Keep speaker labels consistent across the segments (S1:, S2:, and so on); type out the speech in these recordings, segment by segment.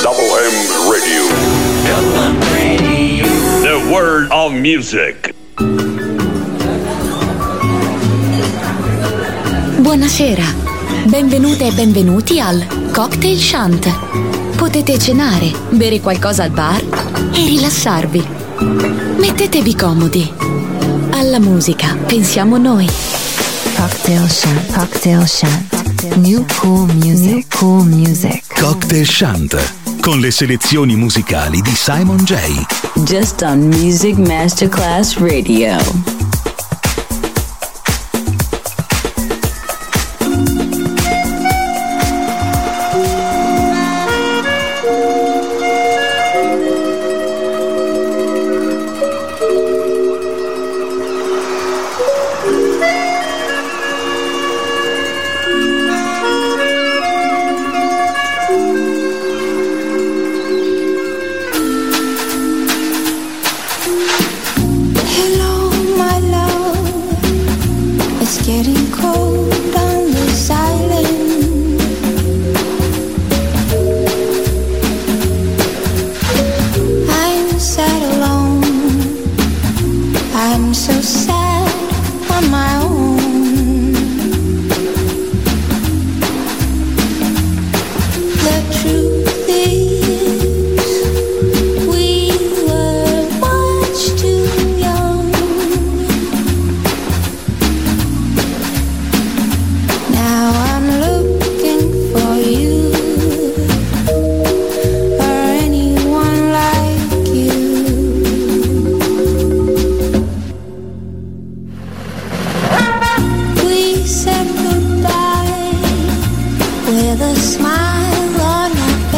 S1: Double M Radio. Double M Radio. The world of music.
S2: Buonasera, benvenute e benvenuti al Cocktail Shant. Potete cenare, bere qualcosa al bar e rilassarvi. Mettetevi comodi. Alla musica pensiamo noi.
S3: Cocktail Shant, Cocktail Shant. New cool music, new cool music.
S4: Cocktail Shant, con le selezioni musicali di Simon J.
S5: Just on Music Masterclass Radio.
S6: With a smile on our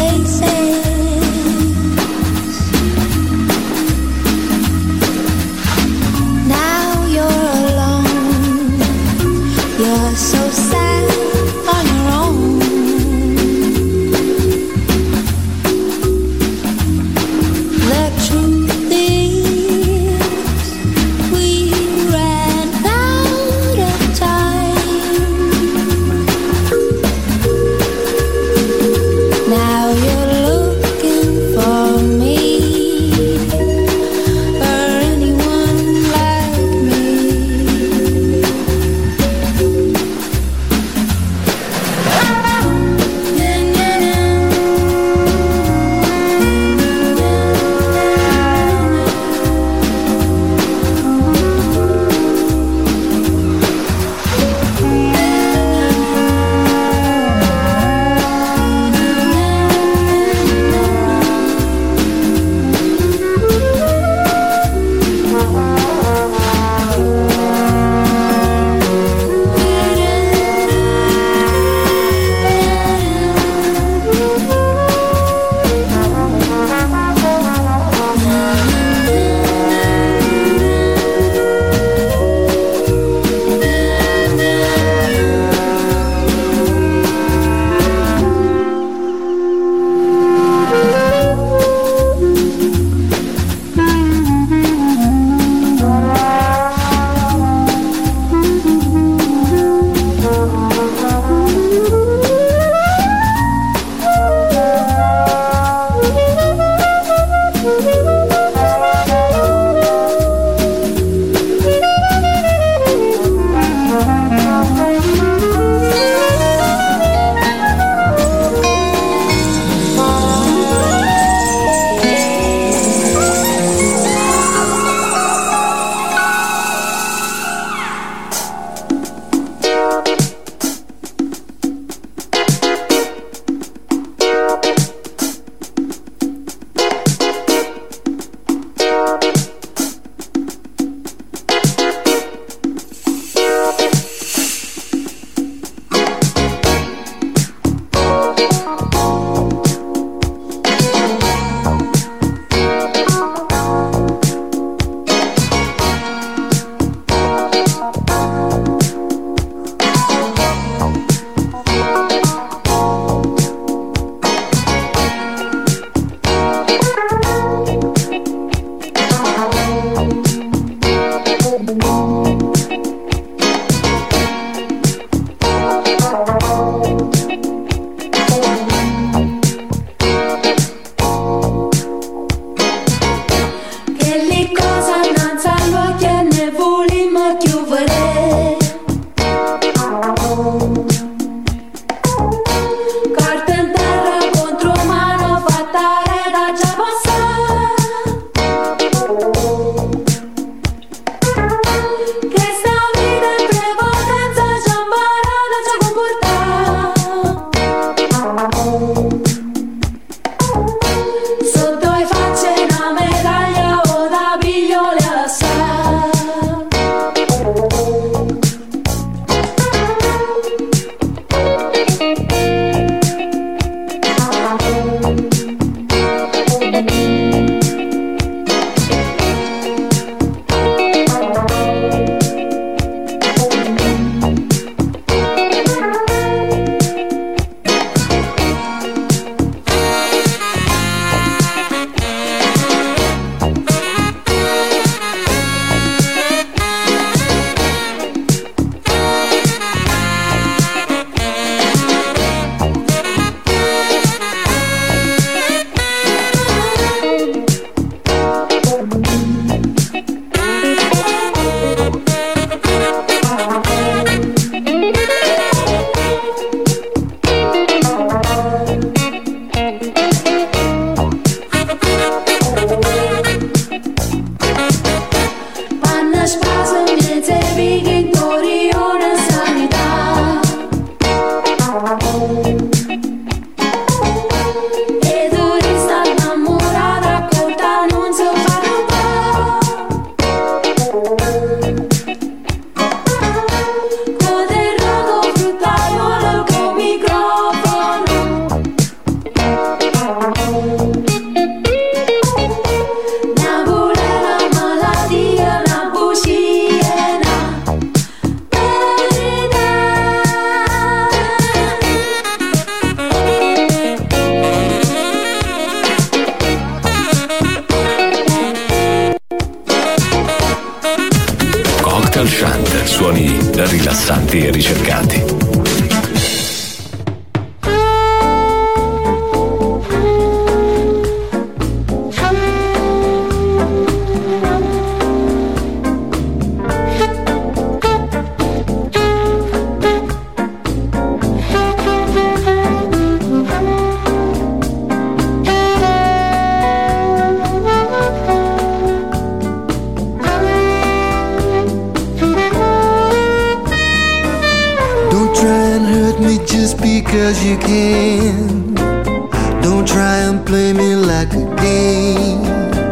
S6: because you can. Don't try and play me like a game.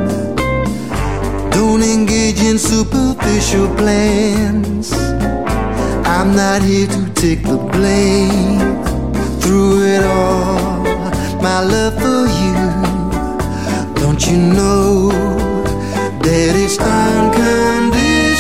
S6: Don't engage in superficial plans. I'm not here to take the blame. Through it all, my love for you, don't you know that it's unconditional?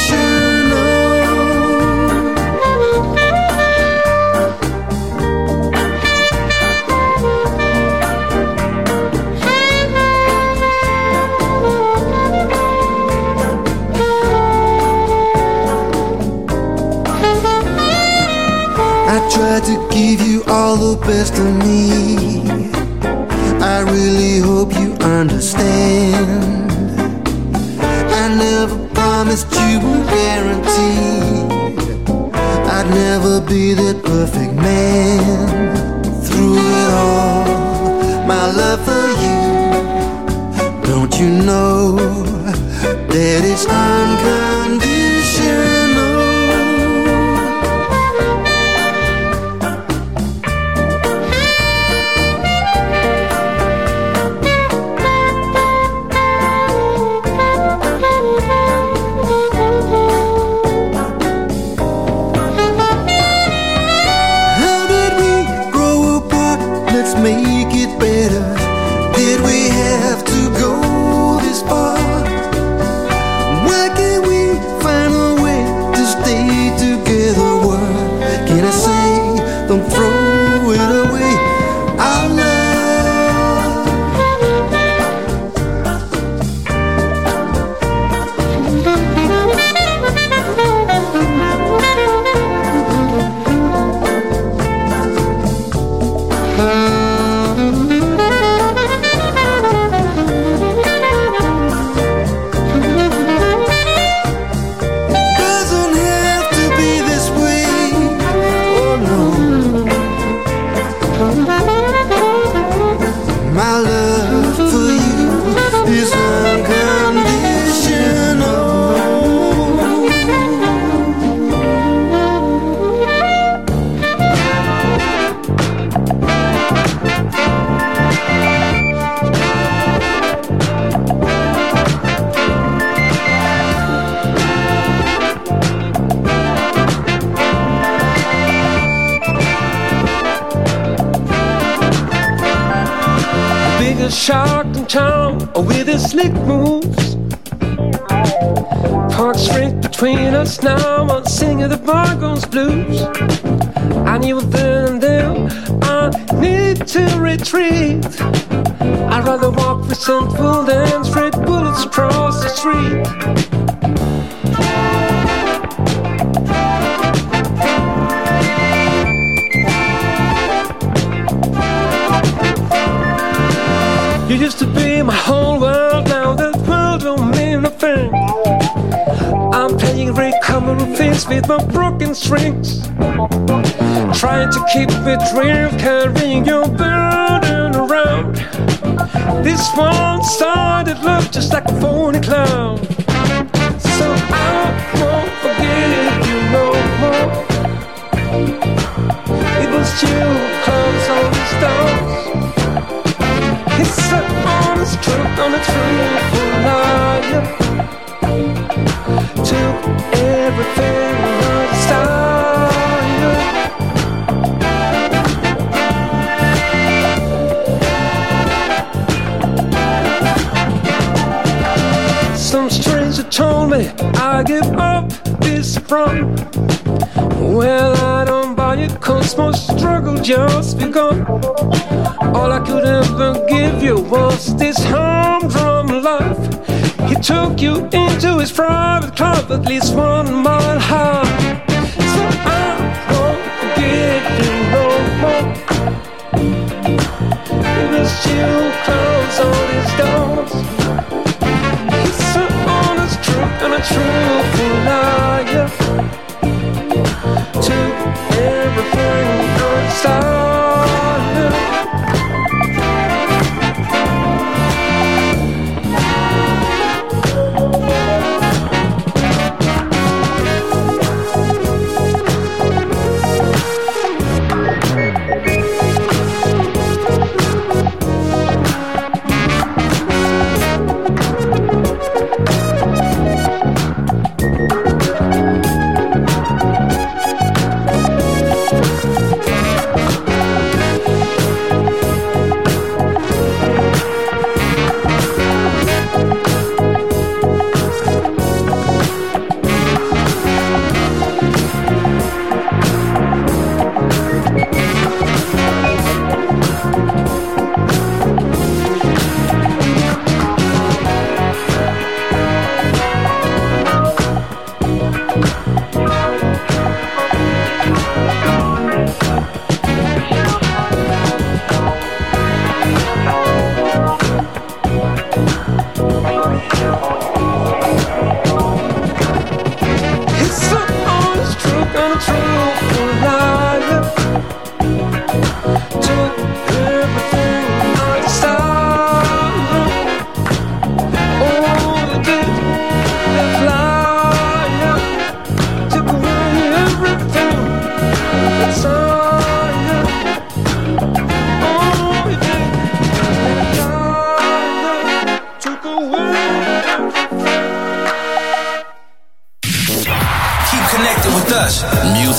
S6: Try to give you all the best of me. I really hope you understand. I never promised you a guarantee. I'd never be that perfect man. Through it all, my love for you, don't you know that it's unconditional? Make it better. Did we have to go this far? Why can't we find a way to stay together? What can I say? Don't throw it away. Our
S7: shark in town with his slick moves. Park straight between us now, I'm singing the Bargo's blues. I knew then and there I need to retreat. I'd rather walk resentful than straight bullets across the street. You used to be my whole world, now that world don't mean a thing. I'm playing recovery things with my broken strings, trying to keep it real, carrying your burden around. This one-sided love just like a phony clown. So I won't forget you no more. It was you who closed all these doors. It's an honest truth on a truthful liar. Took everything on the style. Some stranger told me I give up this run. Well, I don't buy it, cause my struggle just begun. All I could ever give you was this humdrum life. He took you into his private club, at least 1 mile high. So I won't forget you no more. It was you who closed all these doors. It's an honest truth and a truthful liar. Took everything on style.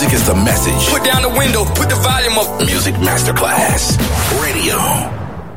S8: Music is the message.
S9: Put down the window, put the volume up.
S8: Music Masterclass Radio.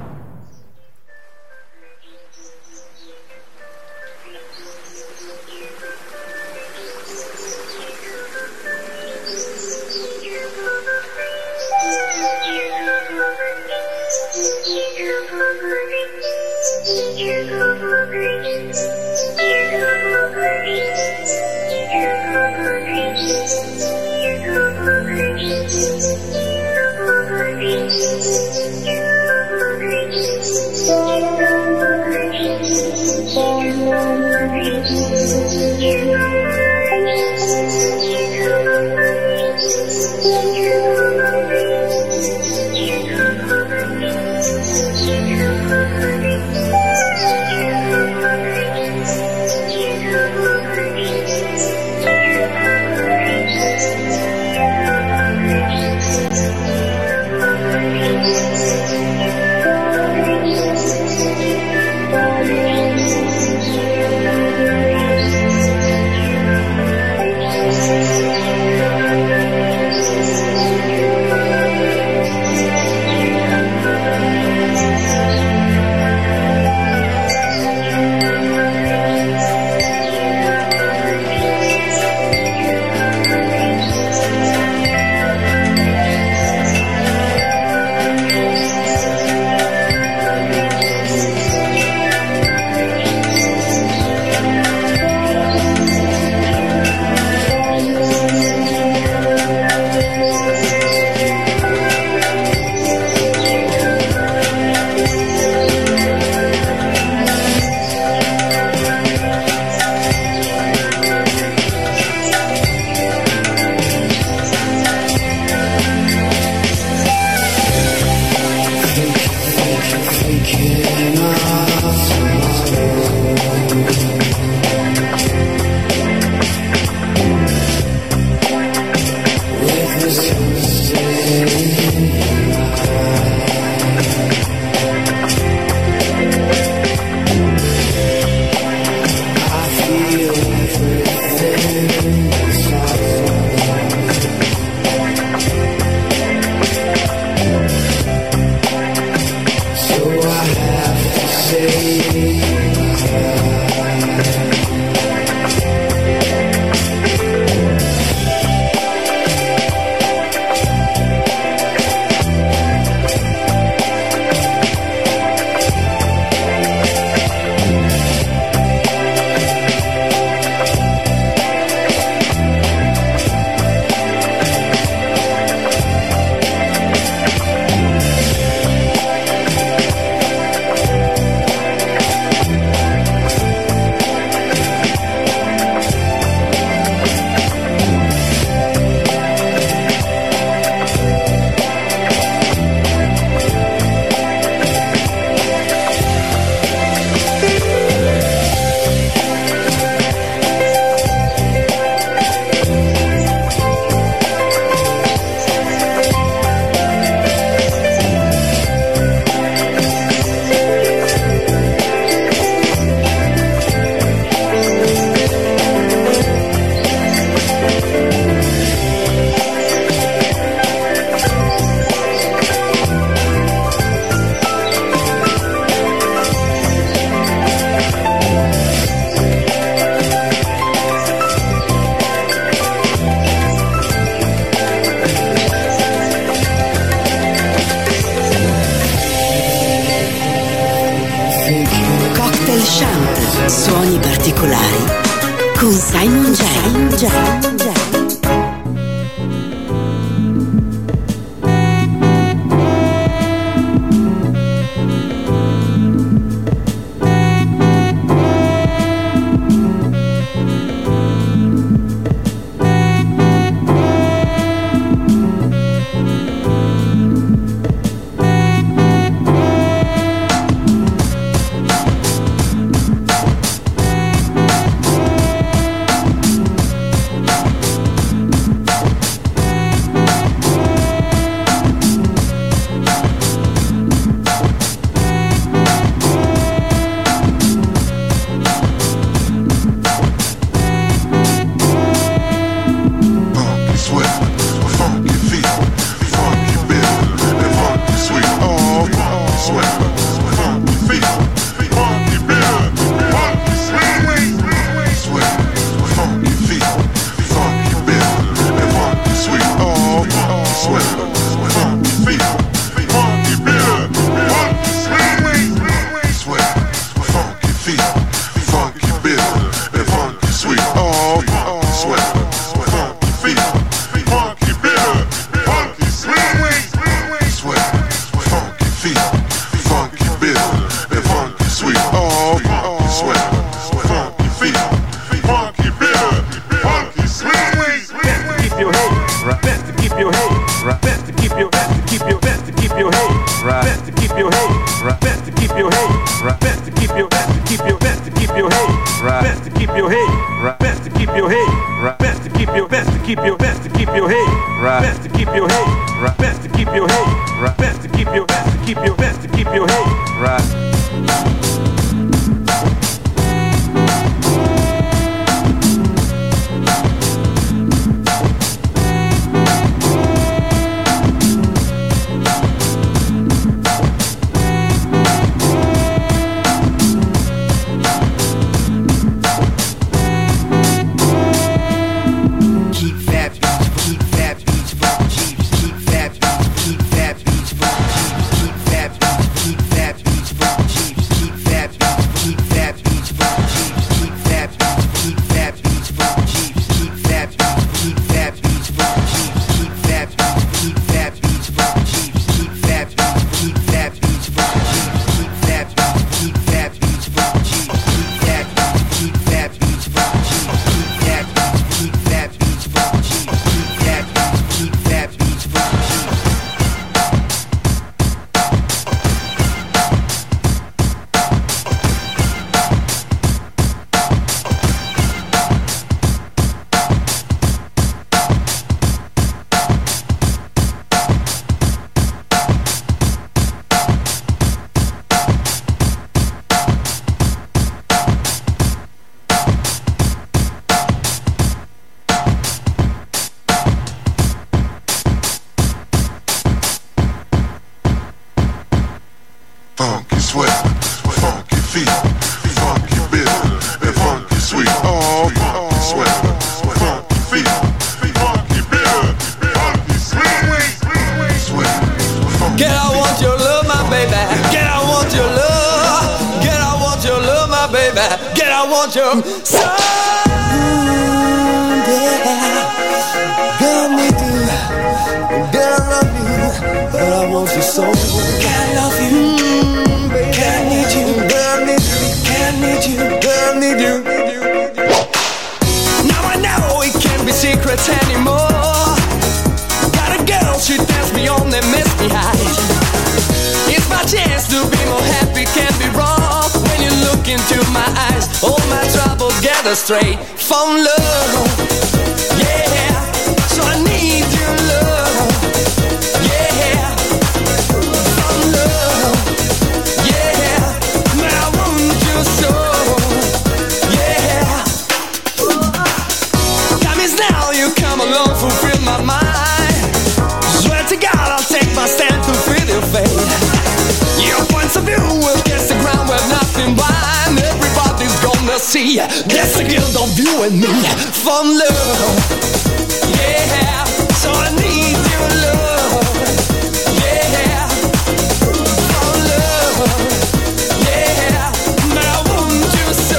S10: Suoni particolari con Simon J.
S7: right. Best to keep your head, right. Best to keep your head, best to keep your head, right. Best to keep your head, right. Best to keep your head, right. Best to keep your head, right. Best to keep your head, right. Best to keep your head, right. Best to keep your head, right.
S11: Straight from love, yeah. So I need your love, yeah. From love, yeah. Man, I want you so, yeah. Time is now, you come along, fulfill my mind. Swear to God, I'll take my stand to feel your fate. Your points of view will kiss the ground where nothing blind. Everybody's gonna see that's the guilt of you and me from love, yeah. So I need your love, yeah. From love, yeah. Man, I want you so,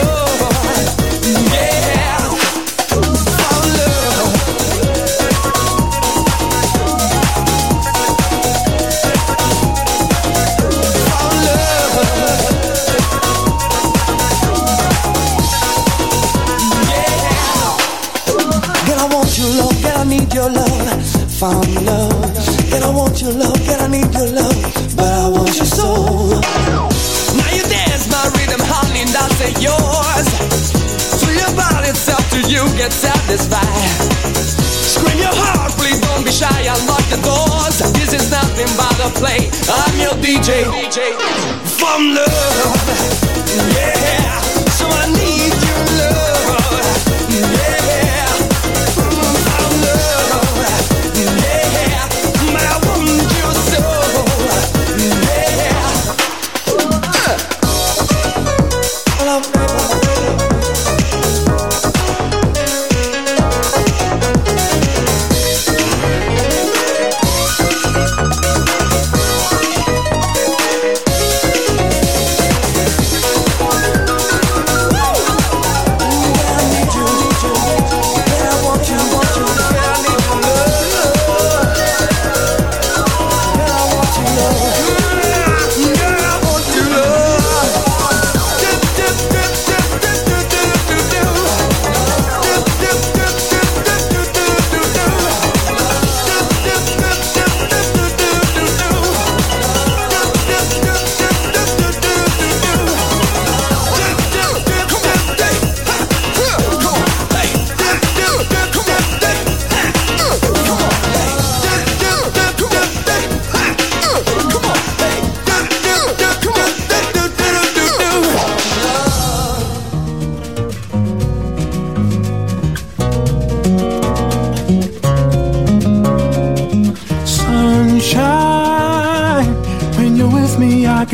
S11: yeah. From love. From love. I need your love, found love. And I want your love, and I need your love, but I want your soul. Now you dance my rhythm, honey, and I'll say yours. To your body, it's up to you, get satisfied. Scream your heart, please don't be shy, unlock the doors. This is nothing but a play, I'm your DJ. From love, yeah. So I need your love, yeah.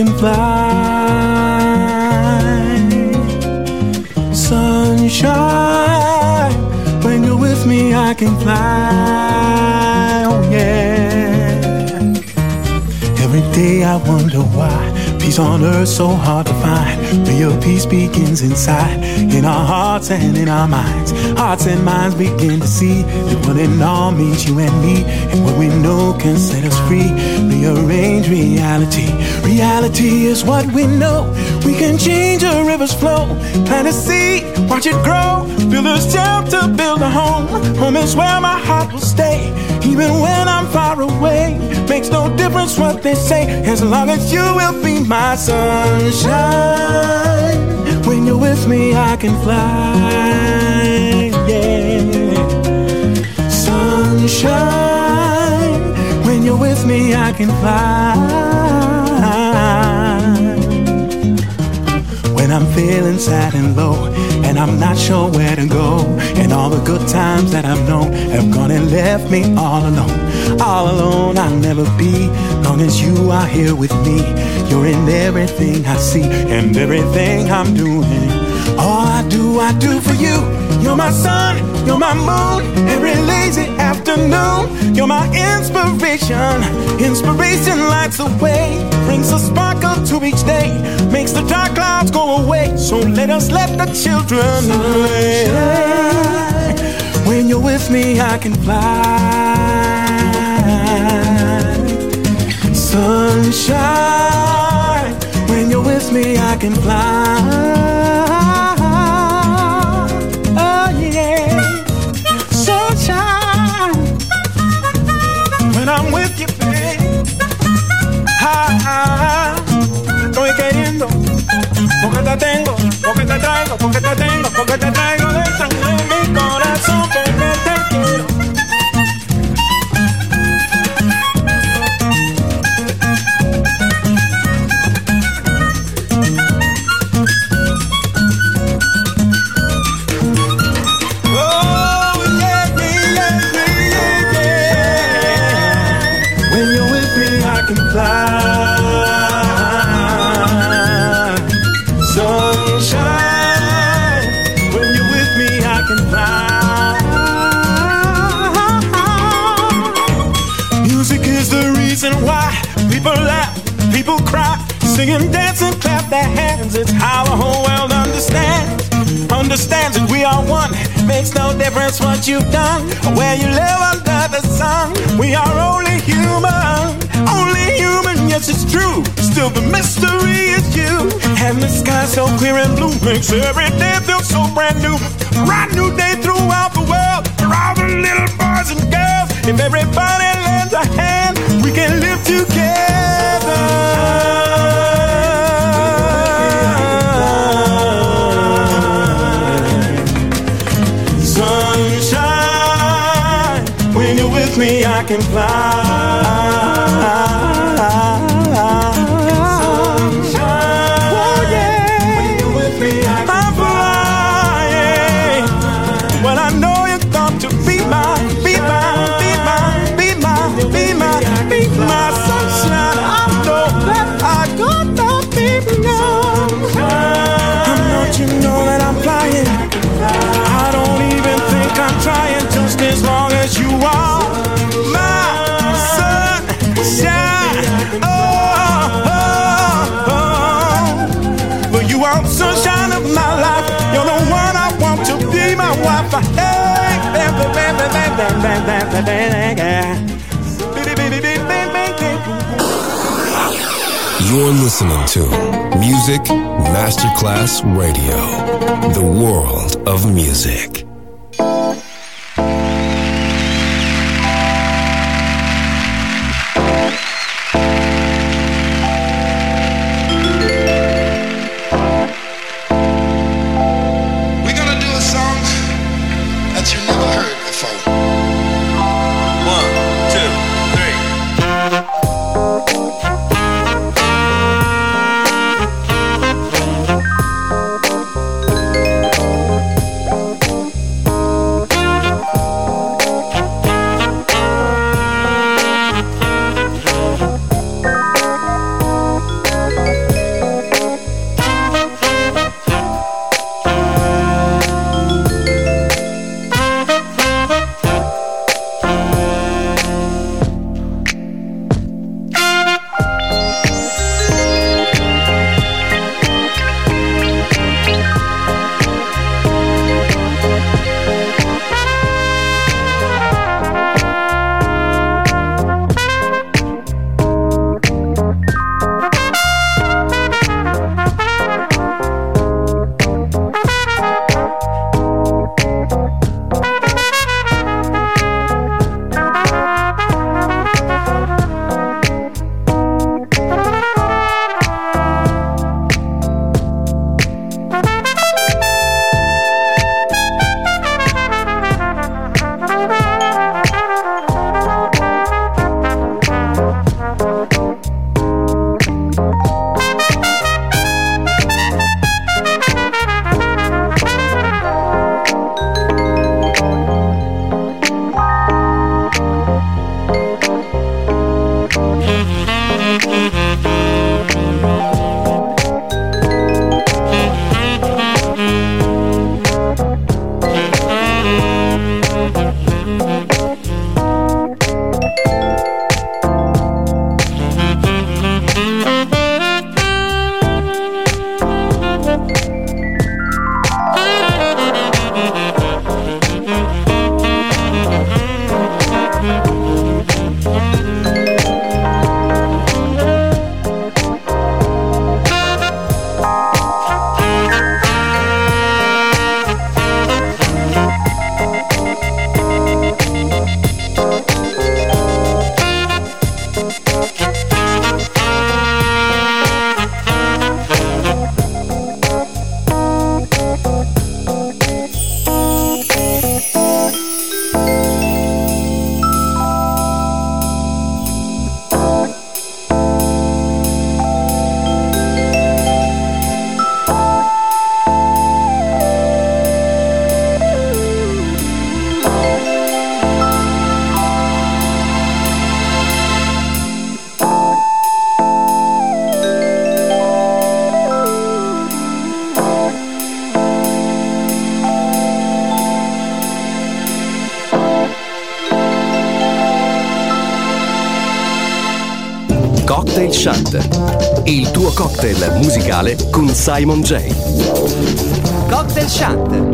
S12: can fly. Sunshine, when you're with me I can fly. Oh yeah. Every day I wonder why peace on earth so hard to find. Real peace begins inside, in our hearts and in our minds. Hearts and minds begin to see that one and all means you and me, and what we know can set us free. Rearrange reality. Reality is what we know. We can change a river's flow. Plant a seed, watch it grow. Build a shelter, build a home. Home is where my heart will stay, even when I'm far away. Makes no difference what they say, as long as you will be my sunshine. When you're with me I can fly, yeah. Sunshine, when you're with me I can fly. When I'm feeling sad and low, and I'm not sure where to go, and all the good times that I've known have gone and left me all alone. All alone I'll never be, long as you are here with me. You're in everything I see and everything I'm doing. All I do for you. You're my sun, you're my moon, every lazy afternoon. You're my inspiration. Inspiration lights the way, brings a sparkle to each day, makes the dark clouds go away. So let us let the children play. When you're with me I can fly. Sunshine, when you're with me I can fly. Oh yeah. Sunshine, when I'm with you, babe. Estoy queriendo, porque te tengo, porque te traigo, porque te tengo, porque te traigo dentro de mi corazón, porque te quiero. Singing, dance, and clap their hands. It's how the whole world understands that we are one. Makes no difference what you've done or where you live under the sun. We are only human, yes it's true. Still the mystery is you. And the sky so clear and blue makes every day feel so brand new. Bright new day throughout the world for all the little boys and girls. If everybody lends a hand, we can live together. Me, I can fly. Sunshine. Oh yeah. When you're with me, I can fly. Well, I know you're going to be my sunshine. I know that I gotta be young. I know you know that I'm flying. I don't even think I'm trying, just as long as you are. Sunshine of my life, you're the one I want to be my wife.
S13: You're listening to Music Masterclass Radio, the world of music.
S14: Cocktail Shant, il tuo cocktail musicale con Simon J.
S15: Cocktail Shant.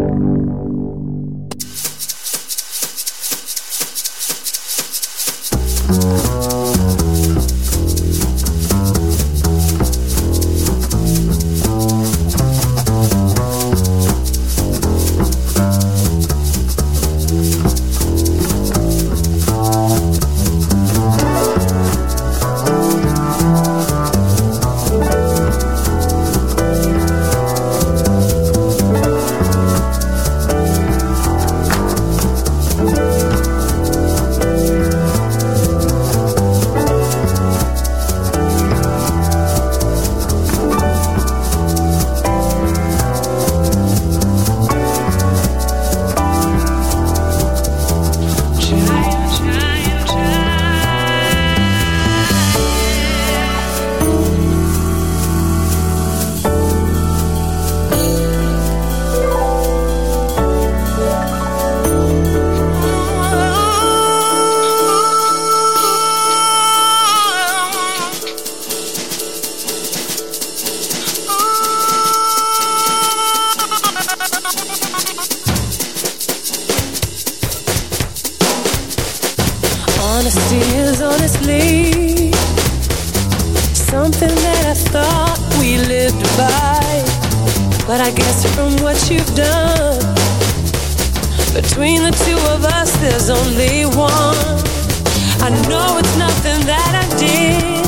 S16: Honesty is honestly something that I thought we lived by. But I guess from what you've done, between the two of us there's only one. I know it's nothing that I did,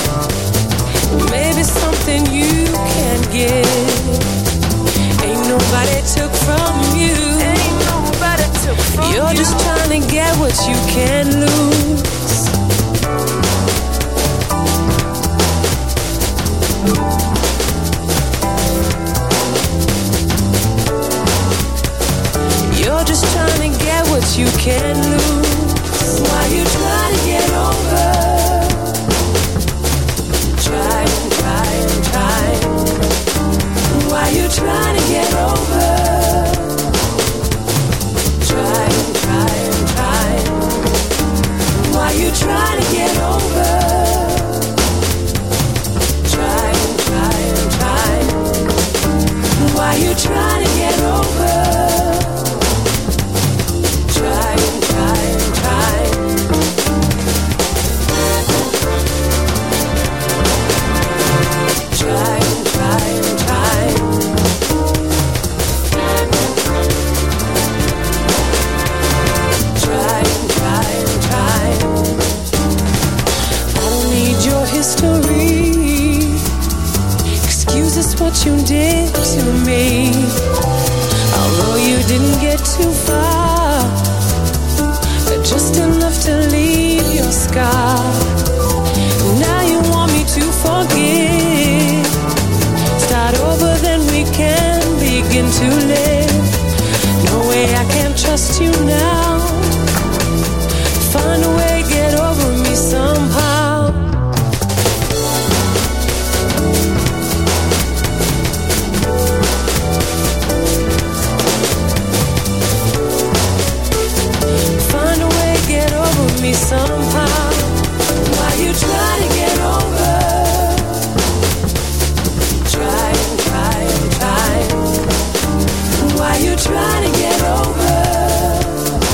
S16: maybe something you can give. Ain't nobody took from you. Ain't nobody took from you. You're just trying to get what you can lose. You're just trying to get what you can lose. Why you trying to get over? Try and try and try. Why you trying to get over? Try and try and try. Why you trying to get over? Try and try and try. Why you trying to get over? Try and try and try. Try and try and try. Try and try and try. I don't need your history. Excuse us what you did to me. Although you didn't get too far, just enough to leave your scar. Now you want me to forgive. Start over, then we can begin to live. No way I can trust you now. Find a way, get over me somehow. Find a way, get over me somehow. Why you try to get over? Try and try and try. Why you try to get over?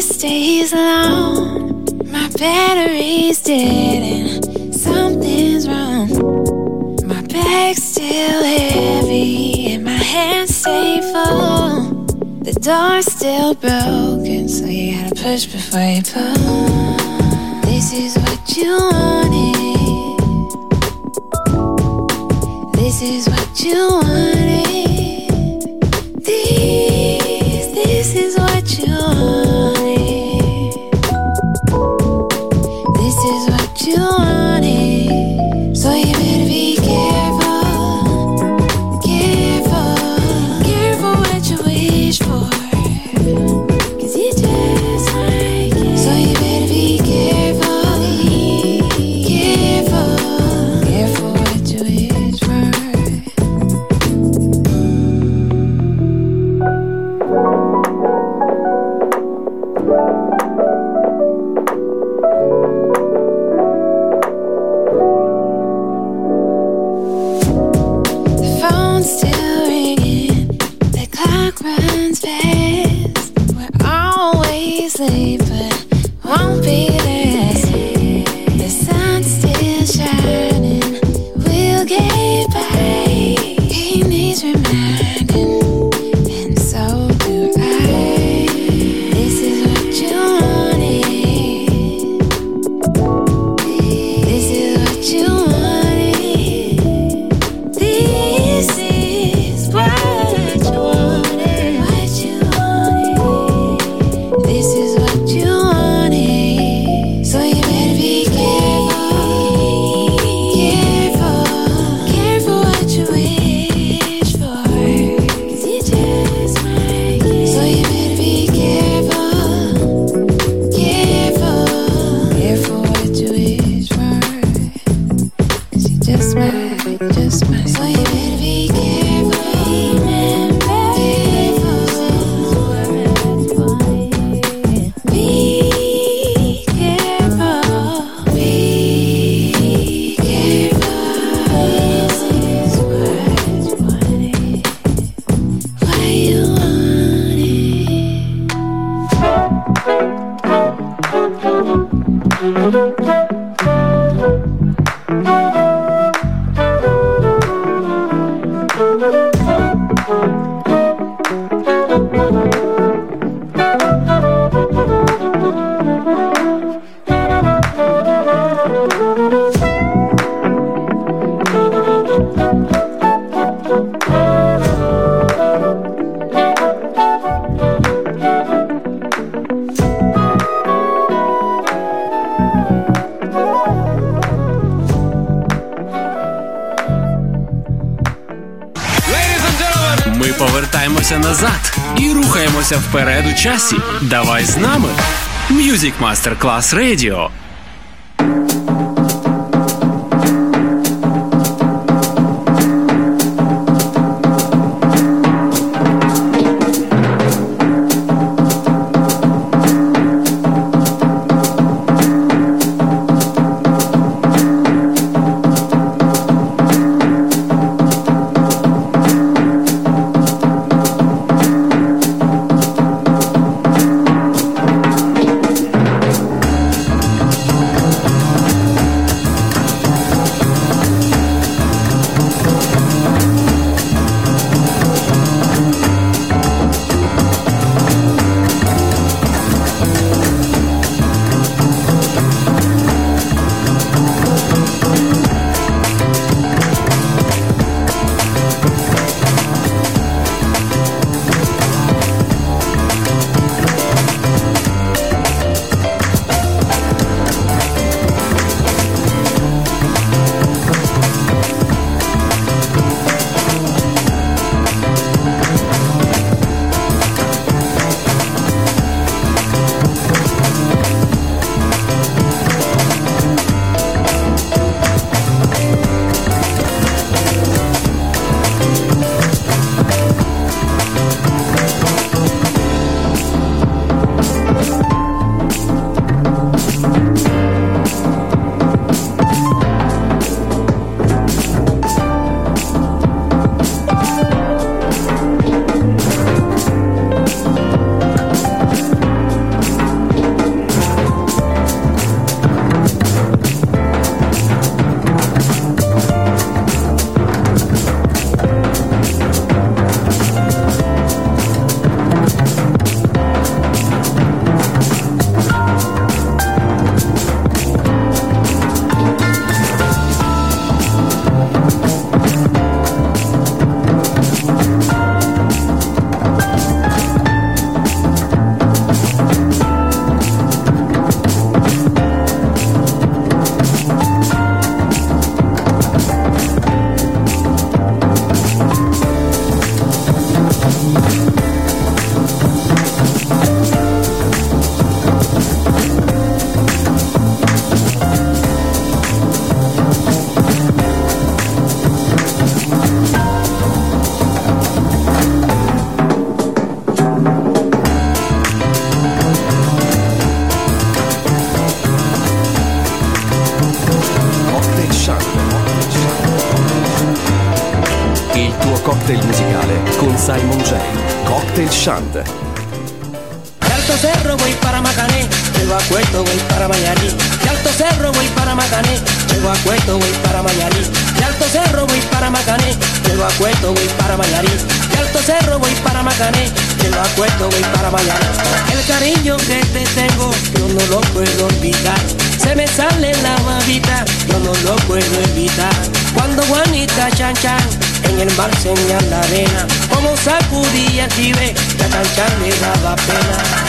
S16: stays alone. My battery's dead and something's wrong. My bag's still heavy and my hands stay full. The door's still broken, so you gotta push before you pull. This is what you wanted. This is what you wanted. This is what you wanted. This is what you wanted. So you better be careful, careful, careful what you wish for. 'Cause you just might get. So you better be careful, careful, careful what you wish for. Still ringing, the clock runs fast. We're always late, but won't be last. The sun's still shining, we'll get by. He needs reminding, and so do I. This is what you wanted. This is what you wanted.
S17: повертаємося назад і рухаємося вперед у часі. Давай з нами. Music Masterclass Radio.
S14: cocktail musicale con Simon J. Cocktail Shant.
S11: De Alto Cerro voy para Macané, llego a Cueto voy para Mayarí. De Alto Cerro voy para Macané, llego a Cueto voy para Mayarí. De Alto Cerro voy para Macané, llego a Cueto voy para Mayarí. De Alto Cerro voy para Macané, llego a Cueto voy para Mayarí. El cariño que te tengo yo no lo puedo olvidar. Se me sale la babita, yo no lo puedo evitar. Cuando Juanita Chan Chan en el mar señala la arena, como sacudía el jibe, que a Chan Chan le daba pena.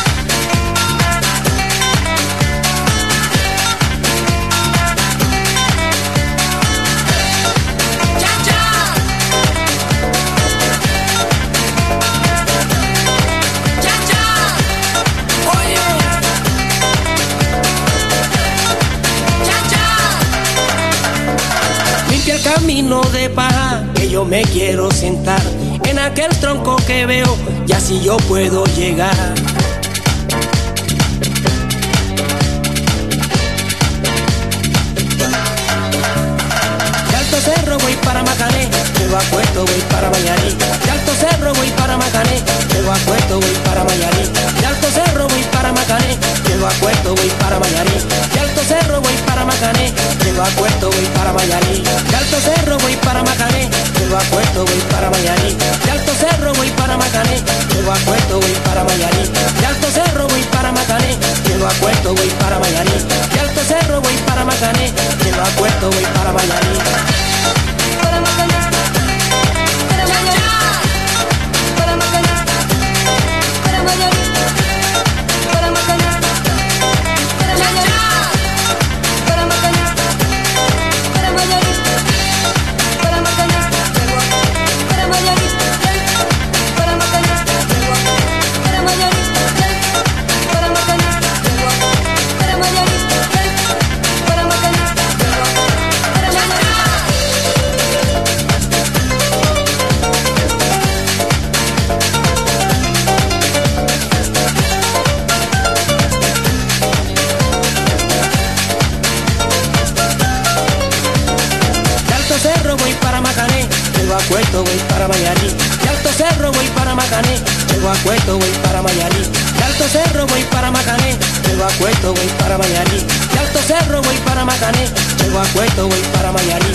S11: El camino de paja que yo me quiero sentar en aquel tronco que veo, y así yo puedo llegar. De Alto Cerro voy para Macané, llego a Cueto voy para Mayarí. De Alto Cerro voy para Macané, llego a Cueto voy para Mayarí. De Alto Cerro voy para Macané, llego a Cueto voy para Mayarí. De Alto Cerro voy para Macané, llego a Cueto voy para Mayarí. De Alto Cerro voy para Macané, llego a Cueto voy para Mayarí. De Alto Cerro voy para Macané, llego a Cueto voy para Mayarí. De Alto Cerro voy para Macané, llego a Cueto voy para Mayarí. De Alto Cerro voy para Macané, llego a Cueto voy para Mayarí. Para Macané, para Mayarí, para Macané, para Mayarí, para Macané, para Mayarí, para Macané, para Mayarí, para Macané, para Mayarí, para Macané, para Mayarí, para Macané, para Mayarí, para Macané, para Mayarí. De Alto Cerro voy para Macané, llego a Cueto voy para Mayarí. De Alto Cerro voy para Macané, llego a Cueto voy para Mayarí. De Alto Cerro voy para Macané, llego a Cueto voy para Mayarí. De Alto Cerro voy para Macané, llego a Cueto voy para Mayarí.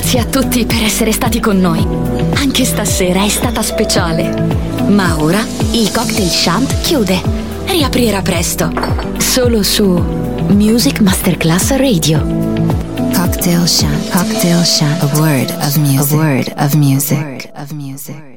S2: Grazie a tutti per essere stati con noi. Anche stasera è stata speciale. Ma ora il Cocktail Shant chiude. Riaprirà presto. Solo su Music Masterclass Radio.
S3: Cocktail Shant. Cocktail Shant. A word of music. A word of music.